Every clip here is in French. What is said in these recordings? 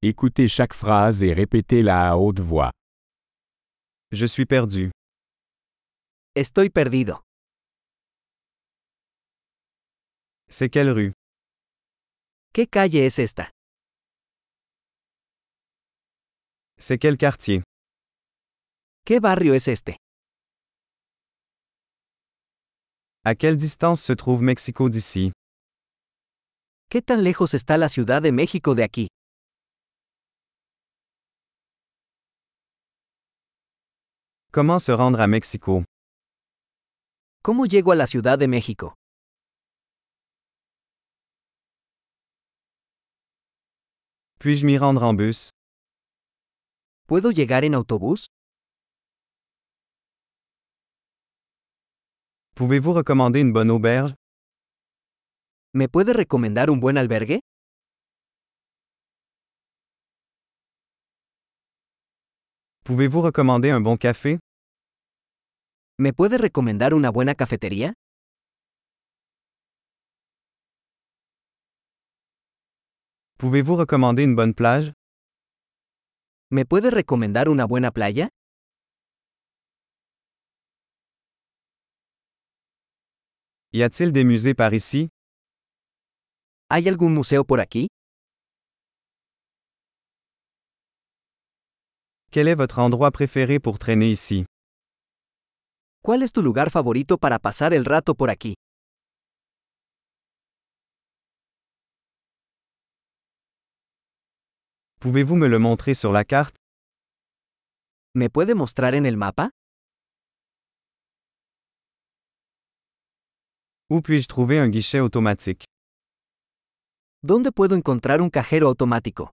Écoutez chaque phrase et répétez-la à haute voix. Je suis perdu. Estoy perdido. C'est quelle rue? ¿Qué calle es esta? C'est quel quartier? ¿Qué barrio es este? À quelle distance se trouve Mexico d'ici? ¿Qué tan lejos está la Ciudad de México de aquí? Comment se rendre à Mexico? ¿Cómo llego a la Ciudad de México? Puis-je m'y rendre en bus? ¿Puedo llegar en autobús? Pouvez-vous recommander une bonne auberge? ¿Me puede recomendar un buen albergue? Pouvez-vous recommander un bon café? ¿Me puede recomendar una buena cafetería? Pouvez-vous recommander une bonne plage? ¿Me puede recomendar una buena playa? Y a-t-il des musées par ici? ¿Hay algún museo por aquí? Quel est votre endroit préféré pour traîner ici? ¿Cuál es tu lugar favorito para pasar el rato por aquí? Pouvez-vous me le montrer sur la carte? ¿Me puede mostrar en el mapa? Où puis-je trouver un guichet automatique? ¿Dónde puedo encontrar un cajero automático?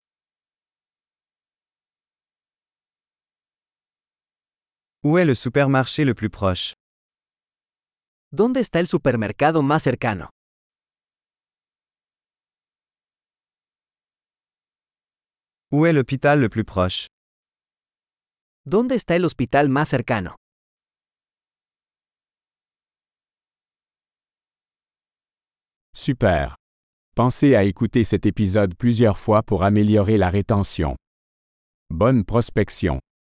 Où est le supermarché le plus proche? ¿Dónde está el supermercado más cercano? Où est l'hôpital le plus proche? ¿Dónde está el hospital más cercano? Super. Pensez à écouter cet épisode plusieurs fois pour améliorer la rétention. Bonne prospection.